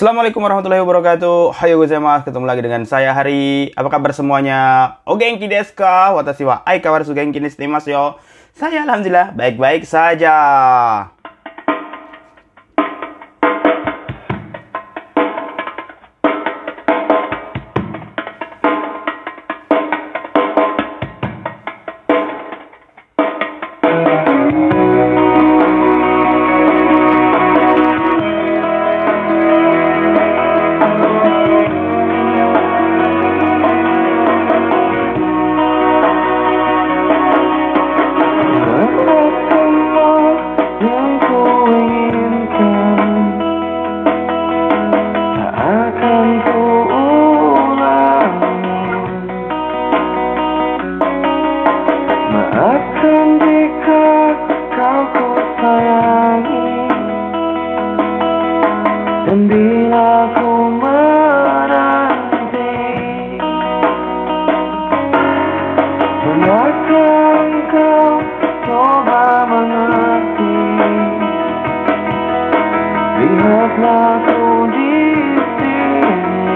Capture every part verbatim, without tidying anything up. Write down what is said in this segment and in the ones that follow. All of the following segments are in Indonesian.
Assalamualaikum warahmatullahi wabarakatuh. Hayo gozaimasu. Ketemu lagi dengan saya Hari. Apa kabar semuanya? O genki desu ka? Watashi wa aikawaru genki ni shite imasu yo. Saya alhamdulillah baik-baik saja. Dan bila ku menanti, benarkah engkau coba mengerti? Lihatlah ku di sini.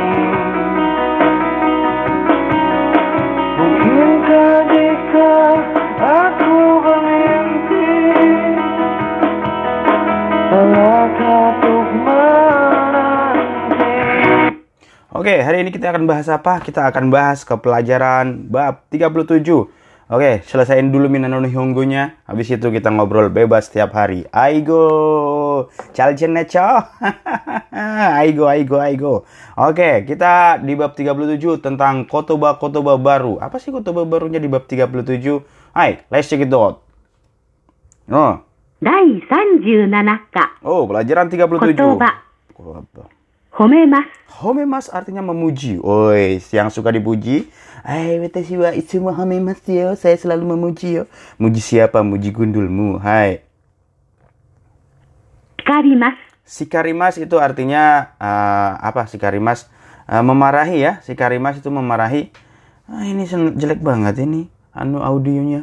Mungkinkah jika aku bermimpi, salahkah untuk Oke, hari ini kita akan bahas apa? Kita akan bahas ke pelajaran bab tiga puluh tujuh. Oke, selesaiin dulu Minano Nihongo-nya. Habis itu kita ngobrol bebas setiap hari. Aigo! Chalchen necho! Aigo, aigo, aigo. Oke, kita di bab tiga puluh tujuh tentang kotoba-kotoba baru. Apa sih kotoba barunya di bab tiga puluh tujuh? Hai, let's check it out. Oh. Dai tiga puluh tujuh ka. Oh, pelajaran tiga puluh tujuh. Kotoba. Kotoba. Homemasu. Homemasu artinya memuji. Oi, yang suka dipuji. Hai, watashi wa itsumo homemasu yo. Saya selalu memuji yo. Muji siapa? Muji gundulmu. Hai. Shikarimasu. Shikarimasu itu artinya uh, apa? Shikarimasu uh, memarahi ya. Shikarimasu itu memarahi. Ah, ini jelek banget ini anu audionya.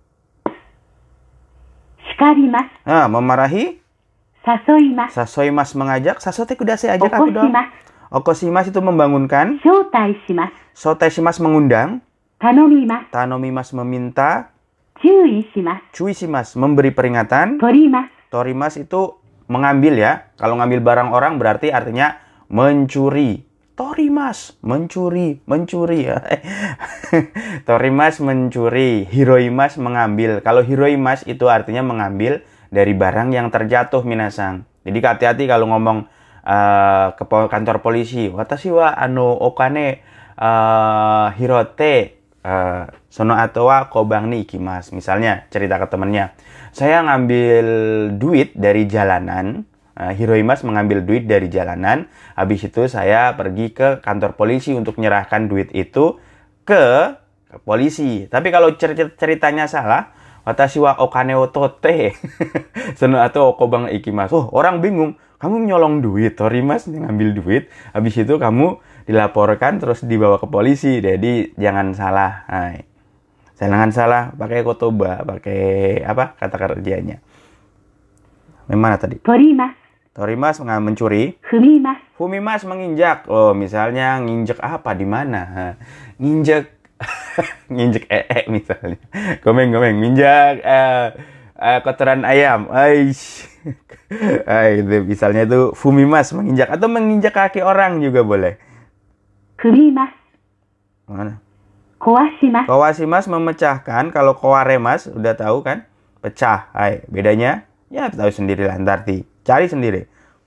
Shikarimasu. Ah, memarahi. Sasoimasu. Sasoimasu mengajak. Sasote kudasai, ajak aku dong. Okoshimasu itu membangunkan. Shoutaishimasu. Shoutaishimasu mengundang. Tanomimasu. Tanomimasu meminta. Chuishimasu. Chuishimasu memberi peringatan. Torimasu. Torimasu itu mengambil ya. Kalau ngambil barang orang berarti artinya mencuri. Torimasu mencuri, mencuri ya. Torimasu mencuri. Hiroimasu mengambil. Kalau hiroimasu itu artinya mengambil dari barang yang terjatuh minasang. Jadi hati-hati kalau ngomong uh, ke kantor polisi. Watashi wa ano okane uh, hirote uh, sono ato wa kobang ni ikimasu. Misalnya cerita ke temannya, saya ngambil duit dari jalanan. uh, Hiroimasu mengambil duit dari jalanan. Habis itu saya pergi ke kantor polisi untuk menyerahkan duit itu ke, ke polisi. Tapi kalau cer- ceritanya salah, watashi wa okane o tote sono ato okobang ikimasu. Oh, orang bingung. Kamu nyolong duit, Torimasu ngambil duit. Habis itu kamu dilaporkan terus dibawa ke polisi. Jadi jangan salah. Hai. Jangan salah pakai kotoba, pakai apa kata kerjanya. Memang tadi? Torimasu. Torimasu mencuri. Fumimasu. Fumimasu menginjak. Oh, misalnya nginjek apa di mana? Nginjek nginjek ee misalnya. Gomeng-gomeng nginjak uh, uh, kotoran ayam. Aish. Ay, itu misalnya itu fumimasu menginjak atau menginjak kaki orang juga boleh. Fumimasu. Mana? Kowashimasu. Kowashimasu memecahkan. Kalau kowaremas udah tahu kan? Pecah. Hai, bedanya ya tahu sendiri lah, ntar di cari sendiri.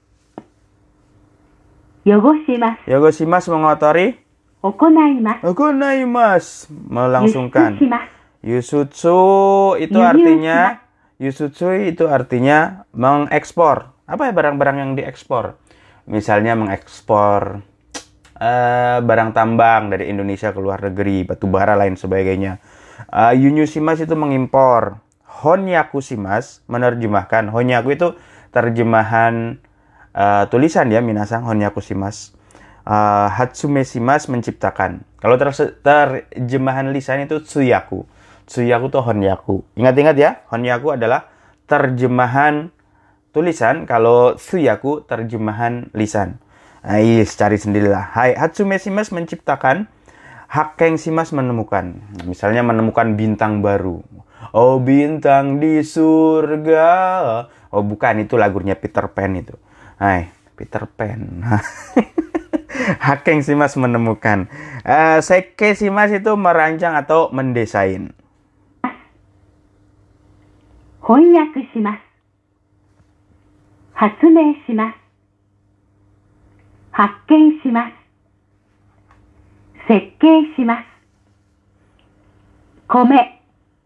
Yogoshimasu. Yogoshimasu mengotori. Okonaimasu. Okonaimasu melangsungkan. Yusutsu itu Yuyu. artinya Yusutsu itu artinya mengekspor. Apa ya barang-barang yang diekspor? Misalnya mengekspor uh, barang tambang dari Indonesia ke luar negeri, batu bara lain sebagainya. Uh, Yunyushimasu itu mengimpor. Honyakushimasu menerjemahkan. Honyaku itu terjemahan uh, tulisan ya minasang, honyakushimasu. Uh, Hatsumeshimasu menciptakan. Kalau ter- terjemahan lisan itu tsuyaku. Tsuyaku itu honyaku. Ingat-ingat ya, honyaku adalah terjemahan tulisan, kalau tsuyaku terjemahan lisan. Ais, cari sendirilah. Hai, Hatsume shimasu menciptakan. Hakkeng shimasu menemukan. Misalnya menemukan bintang baru. Oh, bintang di surga. Oh, bukan, itu lagunya Peter Pan itu. Hai, Peter Pan. Hakkeng shimasu menemukan. Uh, Sekkei shimasu itu merancang atau mendesain. 翻訳します。発明します。発見します。設計します。米、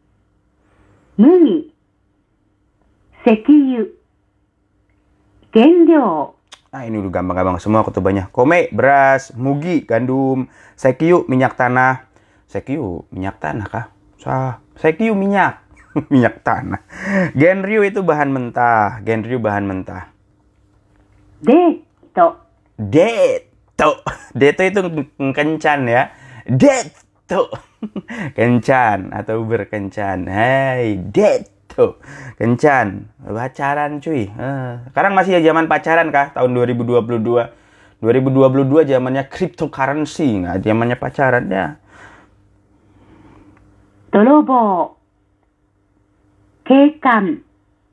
麦、石油、原料。 Nah, ini udah gampang-gampang semua kutubahnya. Kome, beras, mugi, gandum, sekyu, minyak tanah. Sekyu, minyak tanah kah? Sah, sekyu minyak. Minyak tanah. Genryu itu bahan mentah. Genryu bahan mentah. Deto. Deto. Deto itu kencan ya. Deto. Kencan atau berkencan. Hai, deto. Kencan. Pacaran cuy. Uh, sekarang masih ya zaman pacaran kah? Tahun dua ribu dua puluh dua. dua ribu dua puluh dua zamannya cryptocurrency. Nggak zamannya pacaran ya. Dorobo. 警官、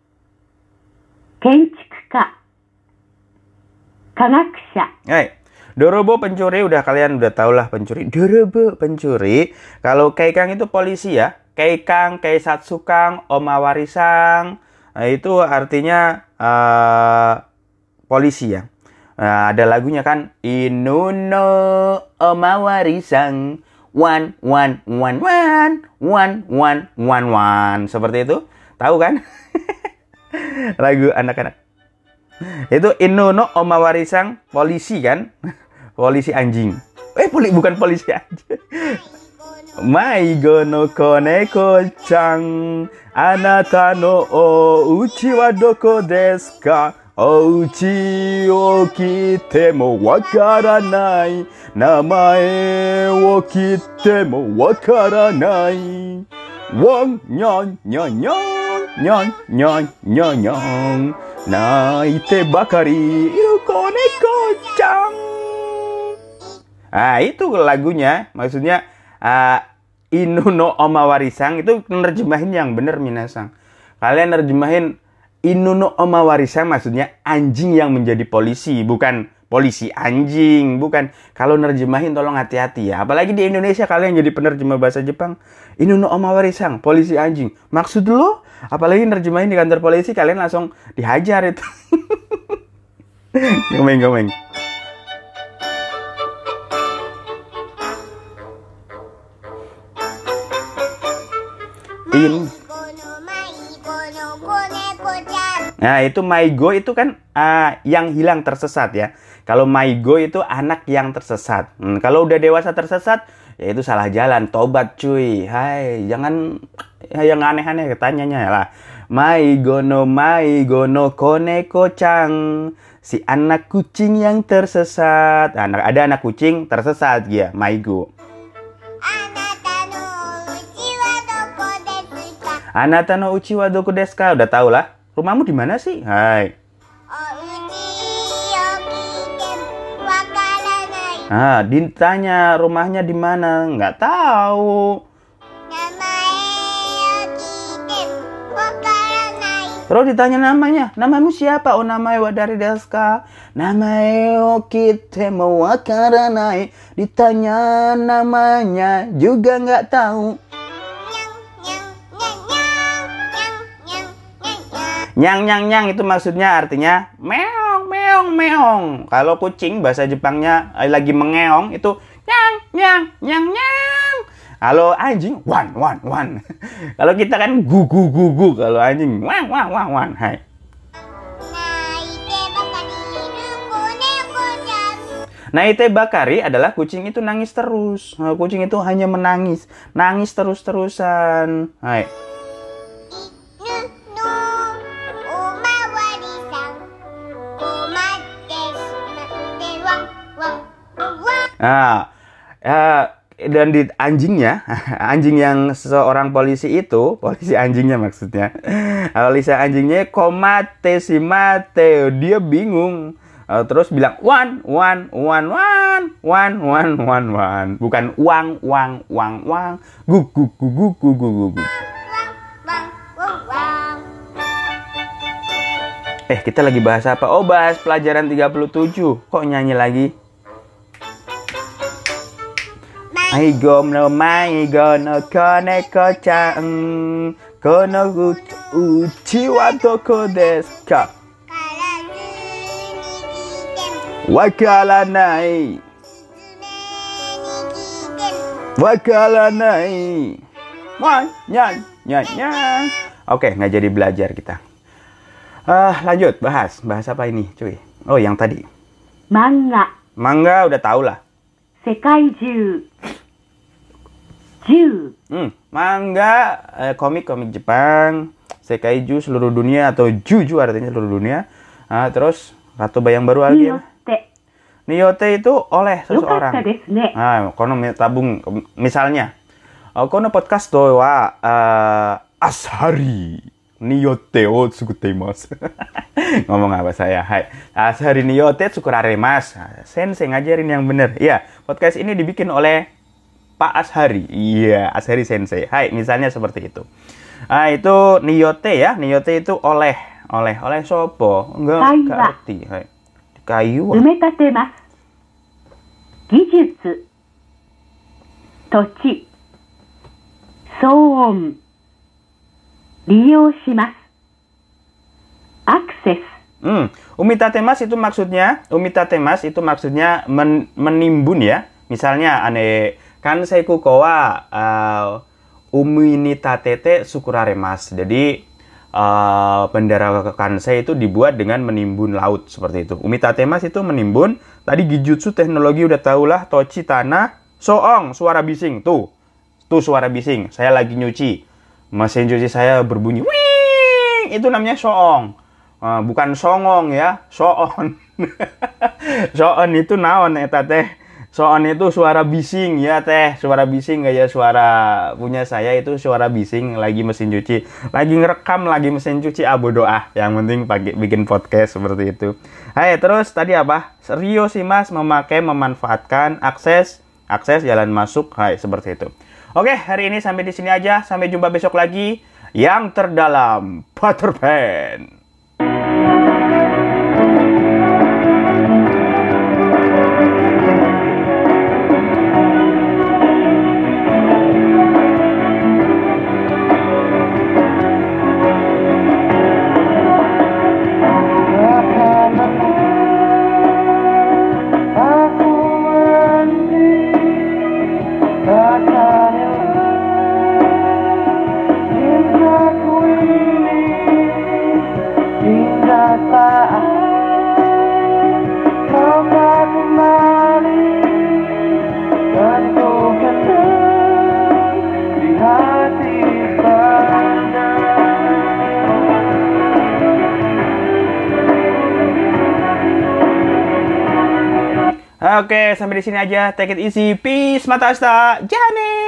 建築家、科学者。 Hai, Dorobo pencuri, udah kalian udah tau lah pencuri. Dorobo pencuri. Kalau Keikang itu polisi ya. Keikang, Keisatsukang, Omawarisang. Nah, itu artinya uh, polisi ya. Nah, ada lagunya kan. Inuno Omawarisang. One, one, one, one, one, one, one, one. Seperti itu. Tahu kan? Lagu anak-anak. Itu Inuno Omawarisang, polisi kan? Polisi anjing. Eh, poli bukan polisi anjing. Maigo no koneko-chan, anata no ouchi wa doko desu ka? Ouchi o kite mo wakaranai, namae o kite mo wakaranai. Wong nyon nyon nyon nyon nyon nyon nyon, naite bakari iru koneko-chan. Ah, itu lagunya. Maksudnya uh, Inuno Omawarisang itu nerjemahin yang bener minasang. Kalian nerjemahin Inuno Omawarisang maksudnya anjing yang menjadi polisi, bukan polisi anjing, bukan. Kalau nerjemahin tolong hati-hati ya. Apalagi di Indonesia kalian jadi penerjemah bahasa Jepang. Inuno Omawarisang, polisi anjing. Maksud lo? Apalagi nerjemahin di kantor polisi kalian langsung dihajar itu. Gomeng-gomeng. In. Nah, itu Maigo itu kan uh, yang hilang tersesat ya. Kalau Maigo itu anak yang tersesat. Hmm, kalau udah dewasa tersesat, ya itu salah jalan, tobat cuy. Hai, jangan ya, yang aneh-aneh tanyanya lah. Maigo no Maigo no koneko-chan. Si anak kucing yang tersesat. Nah, ada anak kucing tersesat ya, Maigo. Anata no uchi wa doko desu ka? Udah tau lah. Rumahmu di mana sih? Hai. Ah, ditanya rumahnya di mana? Nggak tahu. Terus ditanya namanya. Namamu siapa? Oh, namae wa dari desu ka? Namae o kite mo wakaranai. Ditanya namanya juga nggak tahu. Nyang nyang nyang itu maksudnya artinya meong meong meong. Kalau kucing bahasa Jepangnya lagi mengeong itu nyang nyang nyang nyang. Kalau anjing wan wan wan. Kalau kita kan gu gu gu gu. Kalau anjing wan wan wan wan. Hai. Naite bakari adalah kucing itu nangis terus. Kucing itu hanya menangis, nangis terus-terusan. Hai. Nah, uh, dan di anjingnya, anjing yang seorang polisi itu, polisi anjingnya maksudnya, polisi anjingnya komate si mate, dia bingung. Uh, terus bilang one, one, one, one, one, one, one, one. Bukan uang, uang, uang, uang. Guk, guk, guk, guk, guk, guk, guk. Eh, kita lagi bahas apa? Oh, bahas pelajaran tiga puluh tujuh. Kok nyanyi lagi? I gonna my gonna koneko chan kono uchi wa doko desu ka? Wakaranai. Wakaranai. Wan, nyan, nyan, nyan. Oke, nggak jadi belajar kita. Uh, lanjut, bahas. Bahas apa ini, cuy? Oh, yang tadi. Manga. Manga udah tau lah. Seikaiju. Ju. Hmm, manga, eh, komik-komik Jepang. Seikaiju, seluruh dunia. Atau Juju artinya seluruh dunia. Nah, terus, Ratu Bayang Baru lagi ya. Niyote itu oleh seseorang. Nah, kono tabung. Misalnya, kono podcast to wa uh, Ashari Niyote o tsukuteimasu. Ngomong apa saya? Hai. Ashari Niyote tsukuraremasu. Sensei ngajarin yang benar. Iya, podcast ini dibikin oleh Pak Ashari. Iya, Ashari Sensei. Hai, misalnya seperti itu. Ah, itu Niyote ya. Niyote itu oleh. Oleh. Oleh sopo? Enggak ngerti. Hai. Kayu. Umetatemasu. Gijutsu. Tochi. Soon. Liyou shimasu. Akses. Hmm, umitatemas itu maksudnya, umitatemas itu maksudnya men, menimbun ya. Misalnya ane kanseiku kowa uh, uminitatete sukuraremasu. Jadi Uh, bendera kansei itu dibuat dengan menimbun laut seperti itu. Umitatemas itu menimbun. Tadi gijutsu teknologi udah tahulah. Tochi tanah. Soong suara bising. Tuh, tuh suara bising. Saya lagi nyuci. Mesin cuci saya berbunyi. Wing! Itu namanya soong. Uh, bukan songong ya. Soon. Soon itu naon eta teh. Soon itu suara bising ya teh, suara bising kayak suara punya saya itu suara bising lagi mesin cuci, lagi ngerekam lagi mesin cuci abu doa, yang penting pakai bikin podcast seperti itu. Hai, terus tadi apa? Rio Simas memakai memanfaatkan akses akses jalan masuk, hai seperti itu. Oke, hari ini sampai di sini aja, sampai jumpa besok lagi yang terdalam Peter Pan. Oke, sampai di sini aja. Take it easy. Peace. Mata asta. Jane.